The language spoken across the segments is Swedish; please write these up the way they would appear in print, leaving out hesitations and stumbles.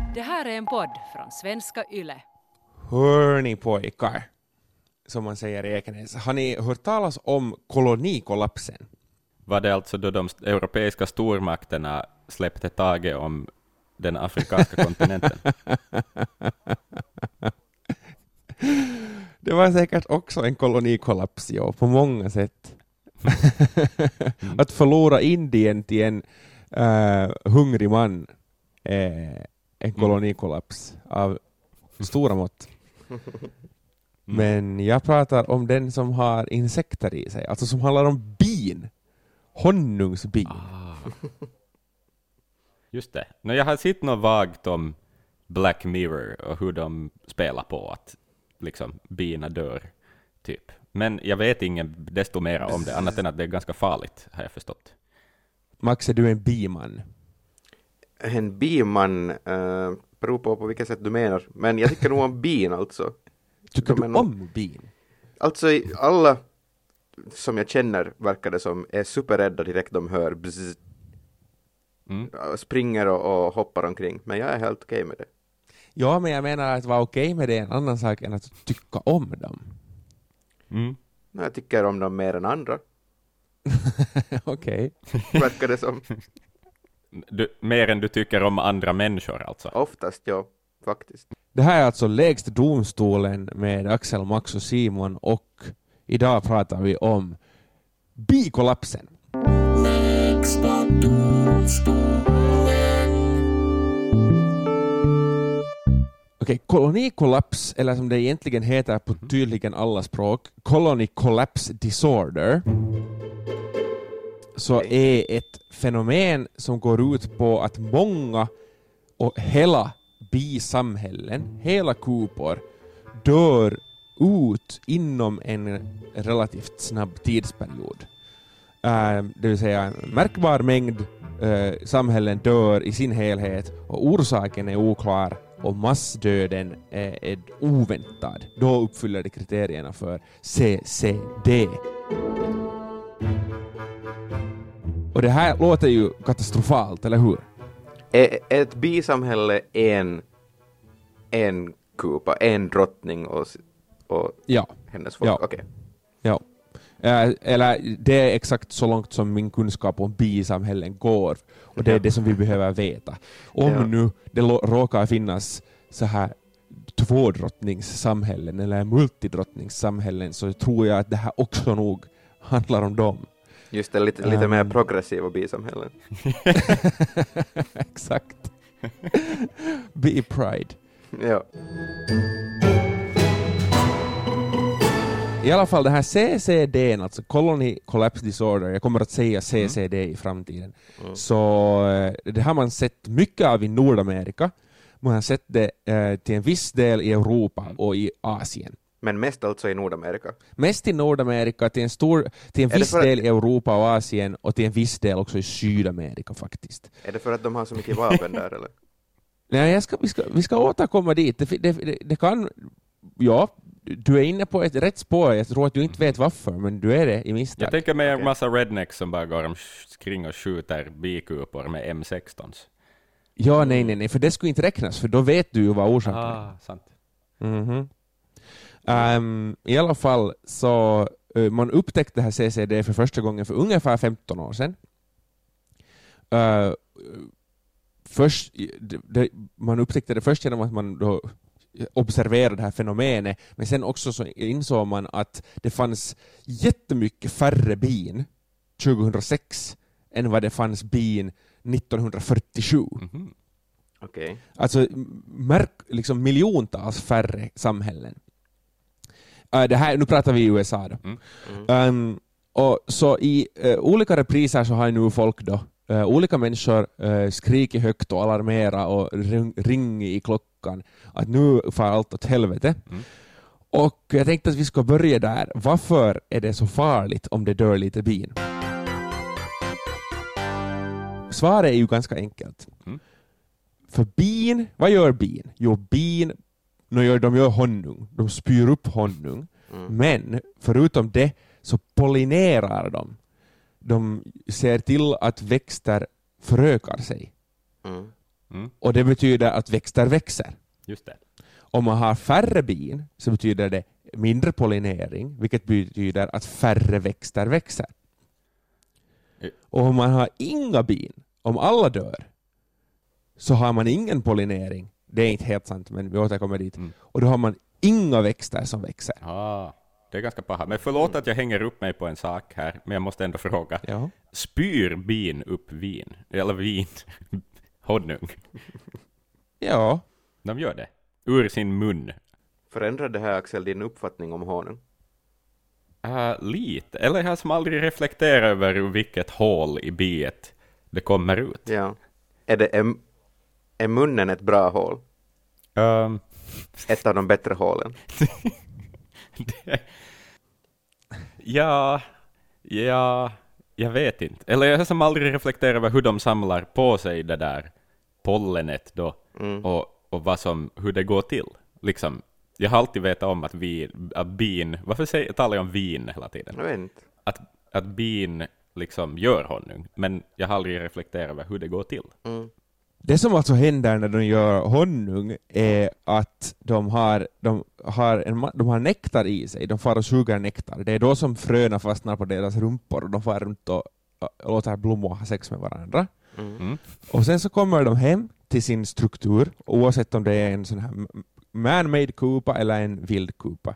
Det här är en podd från Svenska Yle. Hörni pojkar, som man säger i Ekenäs. Har ni hört talas om kolonikollapsen? Var det alltså då de europeiska stormakterna släppte taget om den afrikanska kontinenten? Det var säkert också en kolonikollaps, ja, på många sätt. Att förlora Indien till en hungrig man är en kolonikollaps av stora mått. Men jag pratar om den som har insekter i sig, alltså som handlar om bin. Honungsbin. Just det. Jag har sett något vagt om Black Mirror och hur de spelar på att liksom bina dör typ. Men jag vet ingen desto mer om det, annat än att det är ganska farligt, har jag förstått. Max, är du en biman? En biman beror på vilket sätt du menar. Men jag tycker nog om bin alltså. Tycker du om bin? Alltså alla som jag känner verkar det som är superrädda direkt de hör bzz. Springer och hoppar omkring. Men jag är helt okej med det. Ja, men jag menar att vara okej med det är en annan sak än att tycka om dem. Jag tycker om dem mer än andra. Okej. Verkar det som. Mer än du tycker om andra människor alltså? Oftast, ja. Faktiskt. Det här är alltså Lägsta domstolen med Axel, Max och Simon, och idag pratar vi om bikollapsen. Lägsta domstolen. Okej, kolonikollaps, eller som det egentligen heter på tydligen alla språk, colony collapse disorder, så är ett fenomen som går ut på att många och hela bisamhällen, hela kupor, dör ut inom en relativt snabb tidsperiod. Det vill säga en märkbar mängd samhällen dör i sin helhet och orsaken är oklar och massdöden är oväntad. Då uppfyller det kriterierna för CCD. Och det här låter ju katastrofalt, eller hur? Är ett bisamhälle en kupa, en drottning och ja. Hennes folk? Ja. Okay. Ja. Eller det är exakt så långt som min kunskap om bisamhällen går. Och det är det som vi behöver veta. Om nu det råkar finnas så här tvådrottningssamhällen eller multidrottningssamhällen, så tror jag att det här också nog handlar om dem. Just det, lite mer progressiva bisamhällen. Exakt. Be pride. Ja. I alla fall det här CCD, alltså Colony Collapse Disorder, jag kommer att säga CCD i framtiden. Så det har man sett mycket av i Nordamerika. Man har sett det till en viss del i Europa och i Asien. Men mest alltså i Nordamerika? Mest i Nordamerika, till en viss del i Europa och Asien, och till en viss del också i Sydamerika faktiskt. Är det för att de har så mycket vapen där eller? Nej, vi ska återkomma dit. Det kan, ja, du är inne på ett rätt spår. Jag tror att du inte vet varför, men du är det i misstag. Jag tänker mig en massa rednecks som bara går omkring och skjuter bikupor med M16s. Ja, nej, för det skulle inte räknas, för då vet du ju vad orsaken är. Sant. I alla fall så man upptäckte det här CCD för första gången för ungefär 15 år sedan. Man upptäckte det först genom att man då observerade det här fenomenet, men sen också så insåg man att det fanns jättemycket färre bin 2006 än vad det fanns bin 1947. Okay. Alltså liksom miljontals färre samhällen. Det här, nu pratar vi i USA då. Och så i olika repriser så har nu folk då olika människor skriker högt och alarmera och ringer i klockan att nu får allt åt helvete. Och jag tänkte att vi ska börja där. Varför är det så farligt om det dör lite bin? Svaret är ju ganska enkelt. För bin, vad gör bin? Jo, bin, de gör honung. De spyr upp honung. Men förutom det så pollinerar de. De ser till att växter förökar sig. Och det betyder att växter växer. Just det. Om man har färre bin så betyder det mindre pollinering, vilket betyder att färre växter växer. Och om man har inga bin, om alla dör, så har man ingen pollinering. Det är inte helt sant, men vi återkommer dit. Och då har man inga växter som växer. Det är ganska paha. Men förlåt att jag hänger upp mig på en sak här, men jag måste ändå fråga. Ja. Spyr bin upp vin? Eller vin? Honung? Ja. De gör det. Ur sin mun. Förändrar det här, Axel, din uppfattning om honung? Lite. Eller jag har som aldrig reflekterat över vilket hål i biet det kommer ut. Ja. Är munnen ett bra hål? Ett av de bättre hålen? Ja, jag vet inte. Eller jag har som aldrig reflekterat över hur de samlar på sig det där pollenet då. Och hur det går till. Liksom, jag har alltid vetat om att bin, varför talar jag om vin hela tiden? Jag vet inte. Att bin liksom gör honung, men jag har aldrig reflekterat över hur det går till. Det som alltså händer när de gör honung är att de har nektar i sig. De far och suger nektar. Det är då som fröna fastnar på deras rumpor och de far runt och låter blommor ha sex med varandra. Och sen så kommer de hem till sin struktur, oavsett om det är en sån här man-made kupa eller en vild kupa.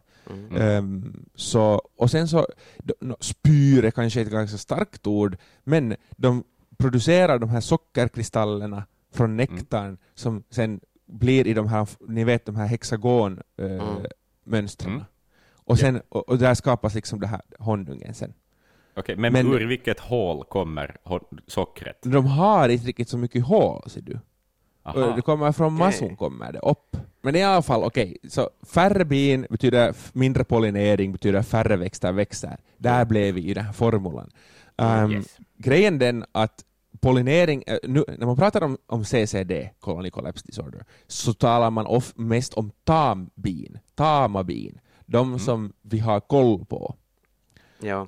Och sen så spyr är kanske ett ganska starkt ord, men de producerar de här sockerkristallerna från nektarn som sen blir i de här, ni vet, de här hexagonmönstren. Och sen och där skapas liksom det här honungen sen. Okej, men ur vilket hål kommer sockret? De har inte riktigt så mycket hål, ser du. Det kommer från masson, kommer det upp. Men i alla fall, så färre bin betyder mindre pollinering, betyder färre växter. Där blev vi i den här formulan. Grejen den att pollinering, nu, när man pratar om CCD, colony collapse disorder, så talar man mest om tama bin. De som vi har koll på. Ja.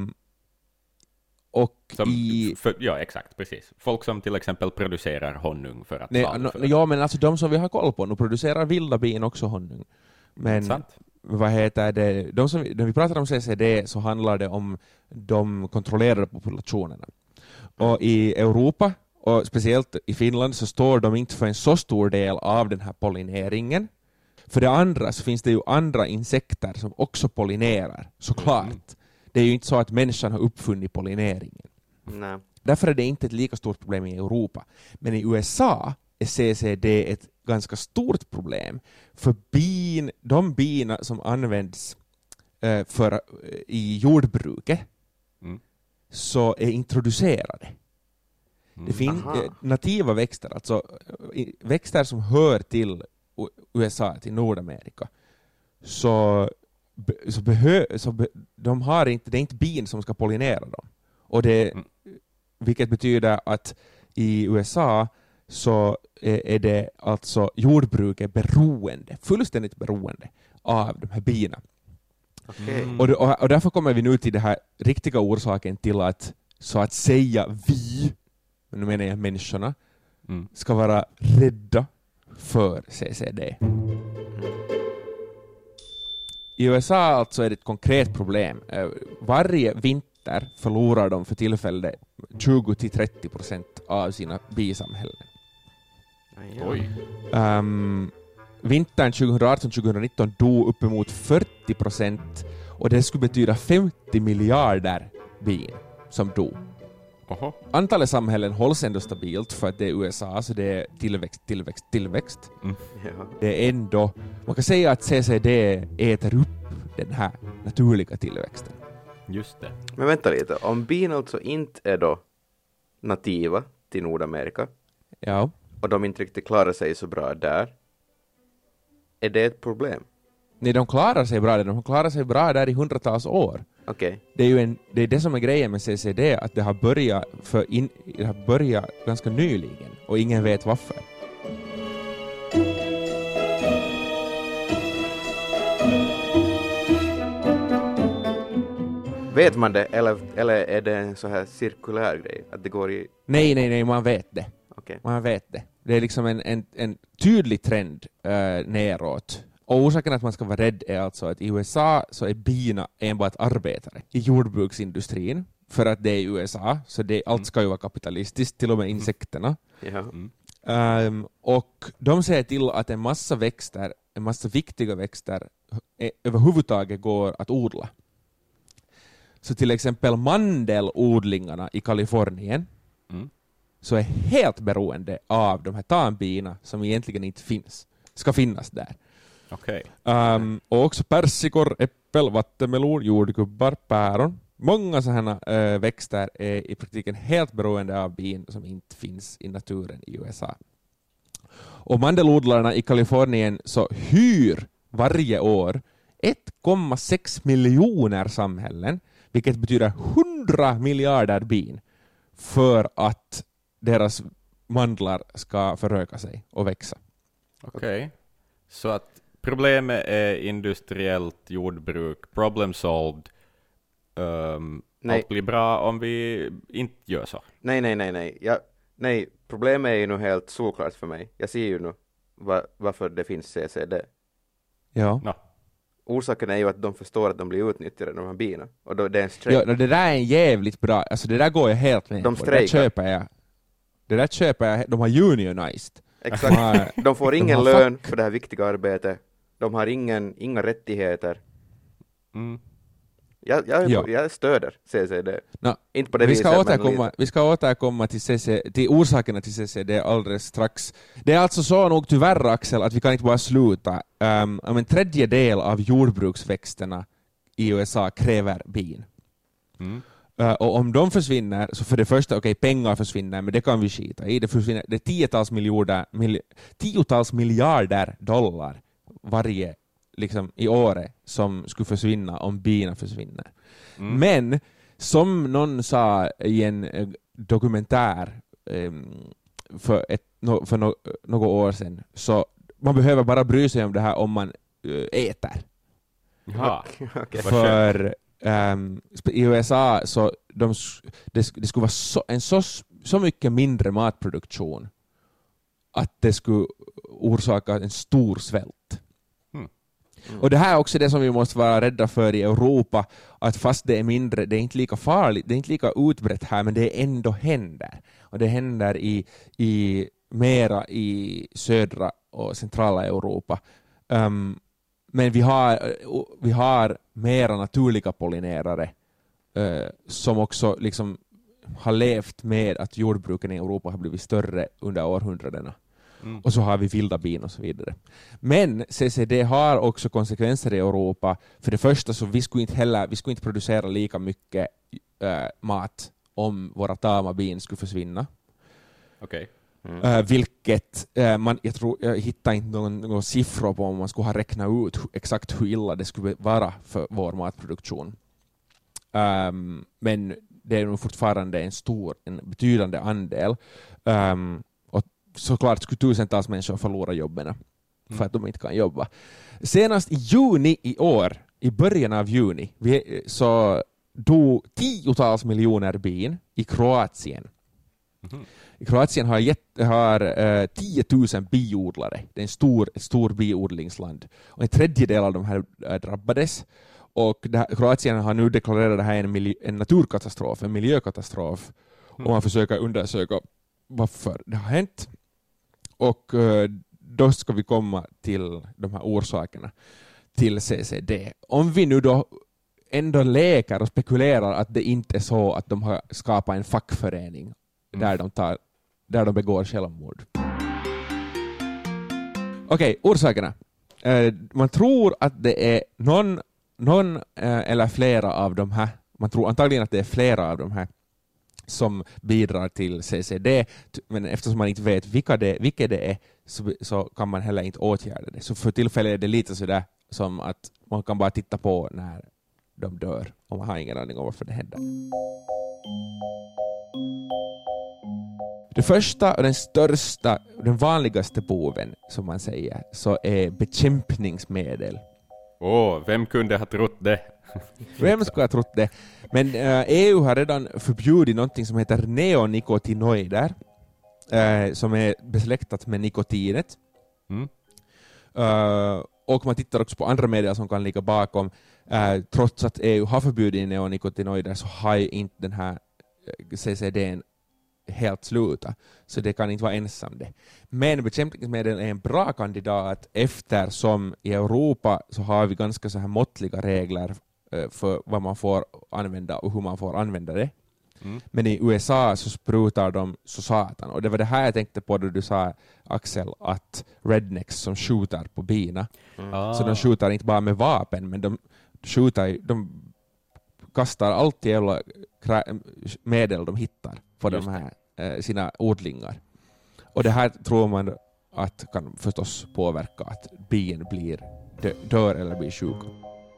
Ja, exakt, precis. Folk som till exempel producerar honung för att ja, men alltså de som vi har koll på, nu producerar vilda bin också honung. Men sant. Vad heter det? När vi pratar om CCD så handlar det om de kontrollerade populationerna. Och i Europa, och speciellt i Finland, så står de inte för en så stor del av den här pollineringen. För det andra så finns det ju andra insekter som också pollinerar, såklart. Det är ju inte så att människan har uppfunnit pollineringen. Nej. Därför är det inte ett lika stort problem i Europa. Men i USA är CCD ett ganska stort problem. För de bina som används i jordbruket så är introducerade. Det finns nativa växter, alltså växter som hör till USA, till Nordamerika. De har inte, det är inte bin som ska pollinera dem. Och vilket betyder att i USA så är det alltså jordbruket fullständigt beroende av de här bina. Och därför kommer vi nu till det här riktiga orsaken till att, så att säga, vi, men nu menar jag människorna, ska vara rädda för CCD. I USA alltså är det ett konkret problem. Varje vinter förlorar de för tillfället 20-30% av sina bisamhällen. Oj. Vintern 2018-2019 dog uppemot 40%, och det skulle betyda 50 miljarder bin som dog. Antalet samhällen hålls ändå stabilt för att det är USA, så det är tillväxt. Det är ändå, man kan säga att CCD äter upp den här naturliga tillväxten. Just det. Men vänta lite, om bin alltså inte är då nativa till Nordamerika, och de inte riktigt klarar sig så bra där, är det ett problem? Nej, de klarar sig bra där. De klarar sig bra där i hundratals år. Okay. Det är det som är grejen med CCD, att det har börjat ganska nyligen och ingen vet varför. Vet man det, eller är det en så här cirkulär grej? Att det går i... Nej, man vet det. Okay. Man vet det. Det är liksom en tydlig trend neråt. Och orsaken att man ska vara rädd är alltså att i USA så är bina enbart arbetare i jordbruksindustrin. För att det är USA, så allt ska ju vara kapitalistiskt, till och med insekterna. Och de säger till att en massa viktiga växter överhuvudtaget går att odla. Så till exempel mandelodlingarna i Kalifornien så är helt beroende av de här tanbina som egentligen inte ska finnas där. Okay. Och också persikor, äppel, vattenmelon, jordgubbar, päron. Många sådana växter är i praktiken helt beroende av bin som inte finns i naturen i USA. Och mandelodlarna i Kalifornien så hyr varje år 1,6 miljoner samhällen, vilket betyder 100 miljarder bin, för att deras mandlar ska föröka sig och växa. Okej. Så att problemet är industriellt jordbruk, problem solved. Allt blir bra om vi inte gör så. Nej, problemet är ju nu helt såklart för mig. Jag ser ju nu varför det finns CCD. Ja. No. Orsaken är ju att de förstår att de blir utnyttjade, de här bina. Och då, det är en strejk. Ja, det där är en jävligt bra, alltså det där går jag helt med på. Det där köper jag. De har unionized. Exakt. De får ingen lön för det här viktiga arbetet. De har inga rättigheter. Jag stöder CCD. Inte på det vi ska återkomma till orsakerna till CCD alldeles strax. Det är alltså så nog tyvärr, Axel, att vi kan inte bara sluta. En tredjedel av jordbruksväxterna i USA kräver bin. Och om de försvinner, så för det första, pengar försvinner, men det kan vi skita i. Det är tiotals miljarder dollar varje i året som skulle försvinna om bina försvinner. Men som någon sa i en dokumentär för några år sedan, så man behöver bara bry sig om det här om man äter. Ja. För i USA så det skulle vara så mycket mindre matproduktion att det skulle orsaka en stor svält. Och det här är också det som vi måste vara rädda för i Europa, att fast det är mindre, det är inte lika farligt, det är inte lika utbrett här, men det ändå händer. Och det händer mera i södra och centrala Europa. Men vi har mera naturliga pollinerare som också har levt med att jordbruken i Europa har blivit större under århundradena. Och så har vi vilda bin och så vidare. Men CCD har också konsekvenser i Europa. För det första så vi skulle inte producera lika mycket mat om våra tama bin skulle försvinna. Okej. Vilket jag hittar inte någon siffror på om man skulle ha räknat ut exakt hur illa det skulle vara för vår matproduktion. Men det är nog fortfarande en betydande andel. Och såklart skulle tusentals människor förlora jobben för att de inte kan jobba. Senast i juni i år, i början av juni, så dog tiotals miljoner bin i Kroatien. I Kroatien har 10 000 biodlare. Det är ett stor biodlingsland. Och en tredjedel av de här drabbades. Och Kroatien har nu deklarerat det här en naturkatastrof, en miljökatastrof. Och man försöker undersöka varför det har hänt. Och då ska vi komma till de här orsakerna till CCD. Om vi nu då ändå leker och spekulerar att det inte är så att de har skapat en fackförening där de begår självmord. Okej, orsakerna. Man tror att det är någon eller flera av de här, man tror antagligen att det är flera av de här som bidrar till CCD, men eftersom man inte vet vilka det är så kan man heller inte åtgärda det. Så för tillfället är det lite sådär som att man kan bara titta på när de dör och man har ingen aning om varför det händer. Det första och den största, den vanligaste boven som man säger, så är bekämpningsmedel. Vem kunde ha trott det? Vem skulle ha trott det? Men EU har redan förbjudit någonting som heter neonikotinoider, som är besläktat med nikotinet. Och man tittar också på andra medel som kan ligga bakom. Trots att EU har förbjudit neonikotinoider så har ju inte den här CCD:n helt sluta. Så det kan inte vara ensam det. Men bekämpningsmedel är en bra kandidat eftersom i Europa så har vi ganska så här måttliga regler för vad man får använda och hur man får använda det. Men i USA så sprutar de så satan. Och det var det här jag tänkte på då du sa, Axel, att rednecks som skjuter på bina. Så de skjuter inte bara med vapen, men de kastar allt jävla medel de hittar på de här sina odlingar. Och det här tror man att kan förstås påverka att bin blir dör eller blir sjuka.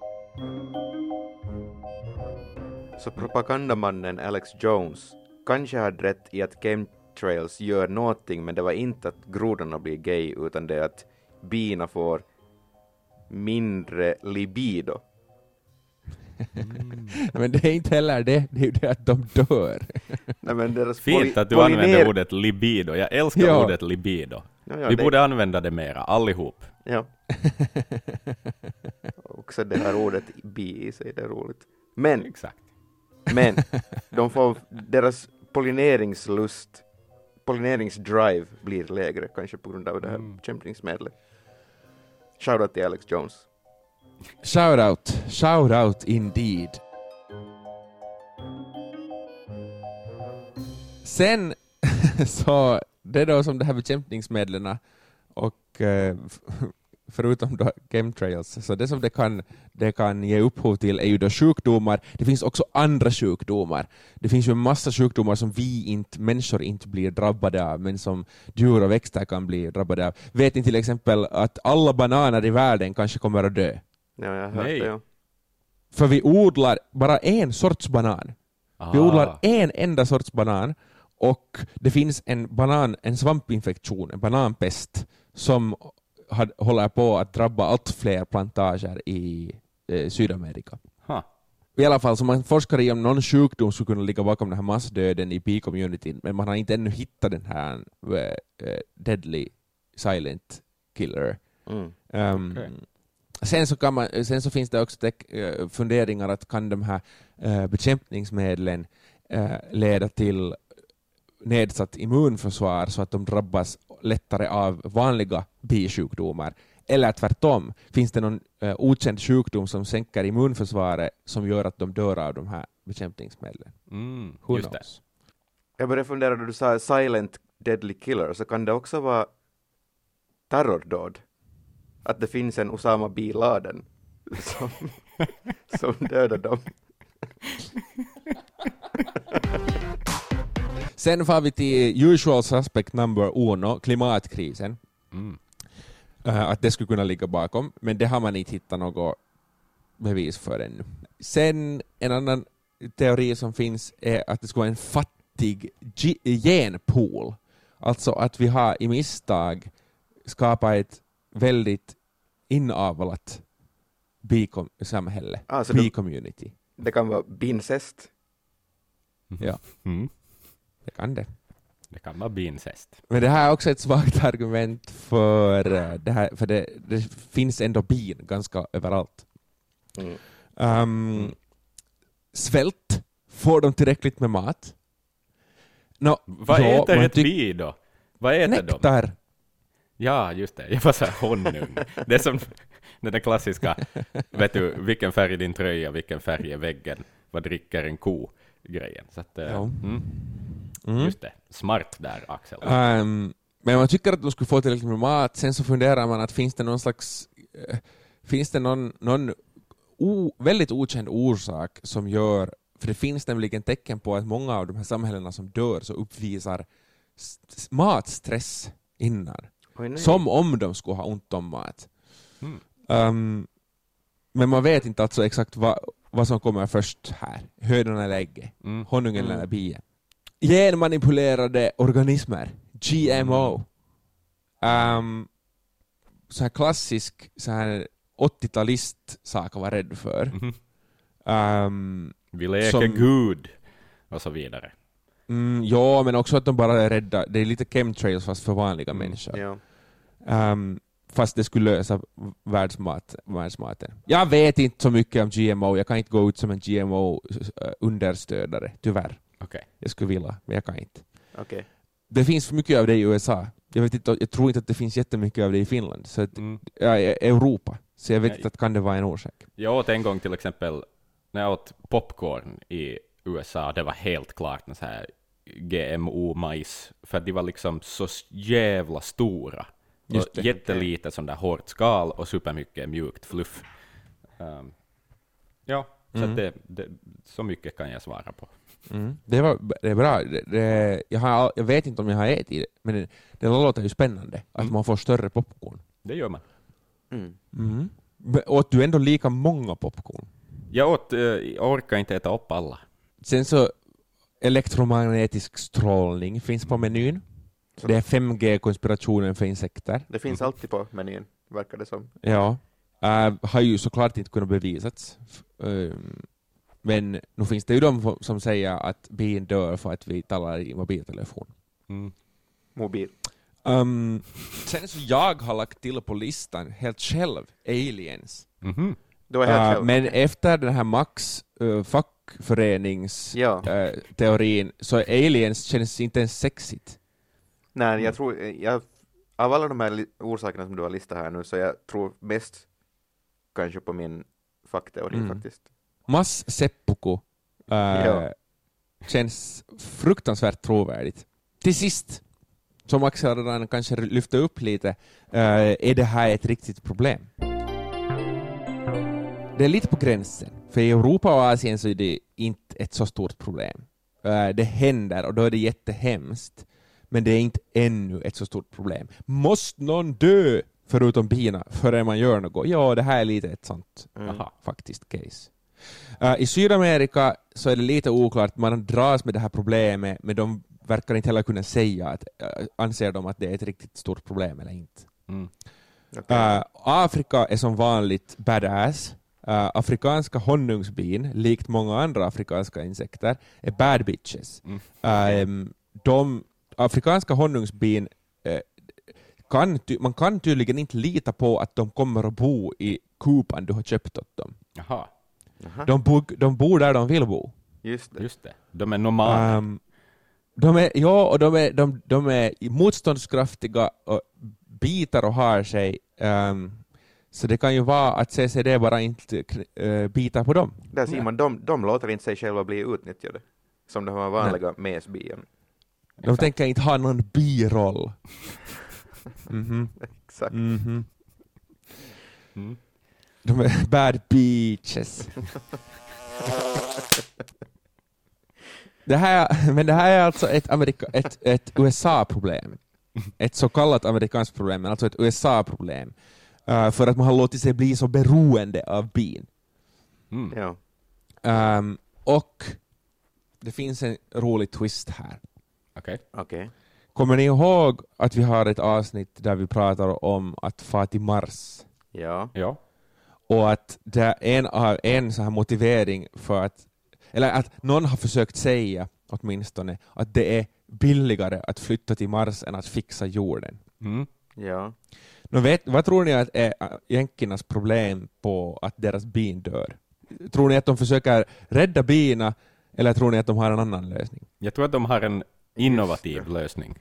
Så propagandamannen Alex Jones kanske hade rätt i att chemtrails gör någonting, men det var inte att grodorna blir gay, utan det är att bina får mindre libido. Men det är inte heller det. Det är ju det att de dör. Nej, men deras fint att du använder ordet libido. Jag älskar ordet libido. Vi borde använda det mera, allihop. Ja. Också det här ordet bi i sig, det är roligt. Men, exakt. Men de får deras pollineringsdrive blir lägre, kanske på grund av det här bekämpningsmedlet. Shoutout till Alex Jones. Shout out indeed. Sen så det är då som det här bekämpningsmedlen och förutom då chemtrails, så det som det kan ge upphov till är ju då sjukdomar. Det finns också andra sjukdomar. Det finns ju en massa sjukdomar som människor inte blir drabbade av, men som djur och växter kan bli drabbade av. Vet ni till exempel att alla bananer i världen kanske kommer att dö? Ja, jag har hört det, ja. För vi odlar bara en sorts banan. Vi odlar en enda sorts banan, och det finns en svampinfektion, en bananpest, som håller på att drabba allt fler plantager i Sydamerika. I alla fall så man forskar i om någon sjukdom skulle kunna ligga bakom den här massdöden i bee-communityn, men man har inte ännu hittat den här deadly silent killer. Okay. Sen så finns det också funderingar att kan de här bekämpningsmedlen leda till nedsatt immunförsvar så att de drabbas lättare av vanliga bisjukdomar. Eller tvärtom, finns det någon okänd sjukdom som sänker immunförsvaret som gör att de dör av de här bekämpningsmedlen? Just det. Jag började fundera då du sa silent deadly killer, så kan det också vara terrordåd. Att det finns en Osama Bin Laden som dödar dem. Sen får vi till usual suspect number 1, klimatkrisen. Att det skulle kunna ligga bakom, men det har man inte hittat något bevis för ännu. Sen en annan teori som finns är att det ska vara en fattig genpool. Alltså att vi har i misstag skapat ett väldigt inavlat bi-samhälle, bi-community. Det kan vara bincest. Ja. Det kan det. Det kan vara bincest. Men det här är också ett svagt argument för det här, för det finns ändå bin ganska överallt. Svält. Får de tillräckligt med mat? Vad äter ett bi då? Vad äter nektar. De? Ja, just det. Jag var så här honung. Det är som den där klassiska, vet du, vilken färg är din tröja, vilken färg är väggen, vad dricker en ko grejen. Så att, just det. Smart där, Axel. Men man tycker att de skulle få tillräckligt med mat. Sen så funderar man att finns det någon väldigt okänd orsak som gör, för det finns nämligen tecken på att många av de här samhällena som dör så uppvisar matstress innan. Som om de skulle ha ont om mat. Men man vet inte alltså exakt vad som kommer först här. Hönan eller ägget. Honungen eller bien. Genmanipulerade organismer. GMO. Så här klassisk så här 80-talist sak att vara rädd för. Vi leker Gud och så vidare. Ja, men också att de bara är rädda. Det är lite chemtrails fast för vanliga människor. Ja. Fast det skulle lösa världsmaten. Jag vet inte så mycket om GMO. Jag kan inte gå ut som en GMO-understödare, tyvärr. Okej. Jag skulle vilja, men jag kan inte. Okej. Det finns för mycket av det i USA. Jag tror inte att det finns jättemycket av det i Finland. Så att, Europa. Så jag vet inte att kan det vara en orsak. Jag åt en gång till exempel, när jag åt popcorn i USA, det var helt klart en så här GMO-majs, för att de var liksom så jävla stora. Just det. Jättelite sån där hårt skal och supermycket mjukt fluff. Så att så mycket kan jag svara på. Det är bra. Jag vet inte om jag har ätit det, men det låter ju spännande att man får större popcorn. Det gör man. Åt du ändå lika många popcorn? Jag orkar inte äta upp alla. Sen så elektromagnetisk strålning finns på menyn. Det är 5G-konspirationen för insekter. Det finns alltid på menyn, verkar det som. Ja. Har ju såklart inte kunnat bevisats. Men nu finns det ju de som säger att bin dör för att vi talar i mobiltelefon. Mobil. Sen så jag har lagt till på listan helt själv aliens. Du är helt själv. Men efter den här Max fackförenings-teorin så aliens känns inte ens sexigt. Nej, jag tror av alla de här orsakerna som du har listat här nu, så jag tror mest kanske på min fackteori faktiskt. Mass-seppuku känns fruktansvärt trovärdigt. Till sist, som Axel redan kanske lyfte upp lite, är det här ett riktigt problem? Det är lite på gränsen. För i Europa och Asien så är det inte ett så stort problem. Det händer och då är det jättehemskt. Men det är inte ännu ett så stort problem. Måste någon dö förutom bina förrän man gör något? Ja, det här är lite ett sånt faktiskt case. I Sydamerika så är det lite oklart. Man dras med det här problemet, men de verkar inte heller kunna säga att anser de att det är ett riktigt stort problem eller inte. Afrika är som vanligt badass. Afrikanska honungsbin, likt många andra afrikanska insekter, är bad bitches. Afrikanska honungsbin man kan tydligen inte lita på att de kommer att bo i kupan du har köpt åt dem. Jaha. De bor där de vill bo. Just det. De är nomader. De är motståndskraftiga och bitar och har sig. Så det kan ju vara att CCD bara inte bitar på dem. Där ser man, de låter inte sig själva bli utnyttjade. Som de här vanliga mesbien. De tänker inte ha någon biroll. Exakt. De är bad beaches. Det här är alltså ett USA-problem. Ett så kallat amerikanskt problem, men alltså ett USA-problem. För att man har låtit sig bli så beroende av bin. Ja. Och det finns en rolig twist här. Okej. Kommer ni ihåg att vi har ett avsnitt där vi pratar om att få till Mars? Ja. Och att det är en så här motivering för att, eller att någon har försökt säga åtminstone att det är billigare att flytta till Mars än att fixa jorden. Ja. Vad tror ni att är jänkernas problem på att deras bin dör? Tror ni att de försöker rädda bina eller tror ni att de har en annan lösning? Jag tror att de har en innovativ lösning.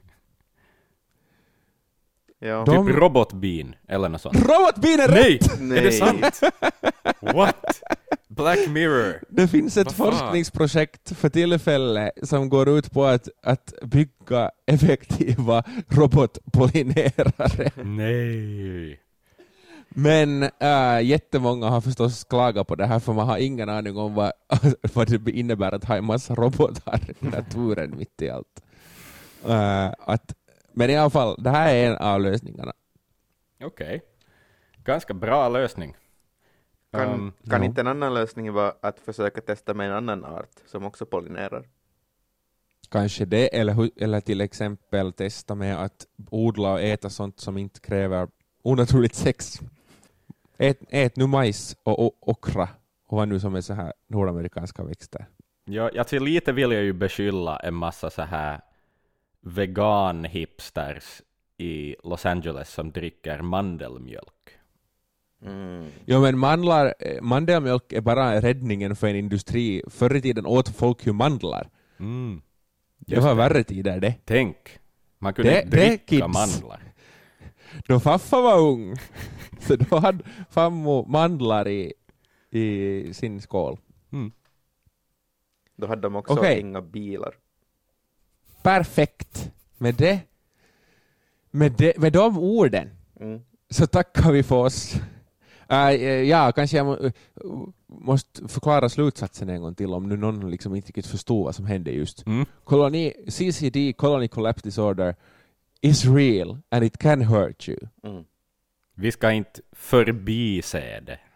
Ja. Typ robotbin eller något sånt. Robotbin är rätt! Nej, är det sant? What? Black Mirror. Det finns ett forskningsprojekt för tillfälle som går ut på att bygga effektiva robotpollinerare. Nej. Men jättemånga har förstås klagat på det här för man har ingen aning om vad det innebär att ha en massa robotar i naturen mitt i allt. Men i alla fall, det här är en av lösningarna. Okej. Ganska bra lösning. Kan inte en annan lösning vara att försöka testa med en annan art som också pollinerar? Kanske det, eller till exempel testa med att odla och äta sånt som inte kräver onaturligt sex. Ät nu majs och okra och vad nu som är så här nordamerikanska växter. Ja, alltså lite vill jag ju beskylla en massa så här vegan-hipsters i Los Angeles som dricker mandelmjölk. Jo, men mandelmjölk är bara räddningen för en industri. Förr i tiden åt folk ju mandlar. Det var värre tider det. Tänk, man kunde dricka kids. mandlar. Då faffa var ung, så då hade fammo mandlar i sin skål. Då hade de också inga bilar. Perfekt. Med de orden så tackar vi för oss. Kanske jag måste förklara slutsatsen en gång till om nu någon liksom inte riktigt förstår vad som hände just. CCD, Colony Collapse Disorder, is real and it can hurt you. Vi ska inte förbise det.